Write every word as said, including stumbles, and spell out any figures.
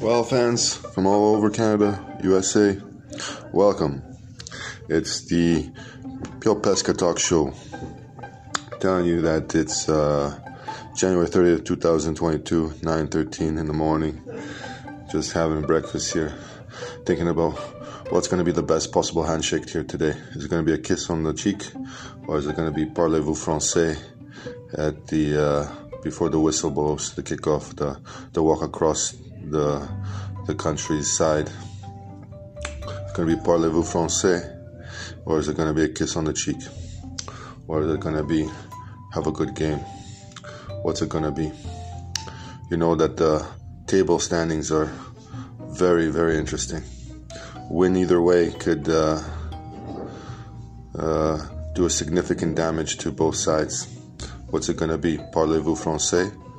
Well, fans from all over Canada, U S A, welcome. It's the Pio Pesca Talk Show. Telling you that it's uh, January thirtieth, twenty twenty-two, nine thirteen in the morning. Just having breakfast here, thinking about what's going to be the best possible handshake here today. Is it going to be a kiss on the cheek, or is it going to be parlez-vous français at the uh, before the whistle blows, the kickoff, the the walk across the the country's side? It's going to be parlez-vous français, or is it going to be a kiss on the cheek, or is it going to be have a good game? What's it going to be? You know that the table standings are very, very interesting. Win either way could uh, uh, do a significant damage to both sides. What's it going to be? Parlez-vous français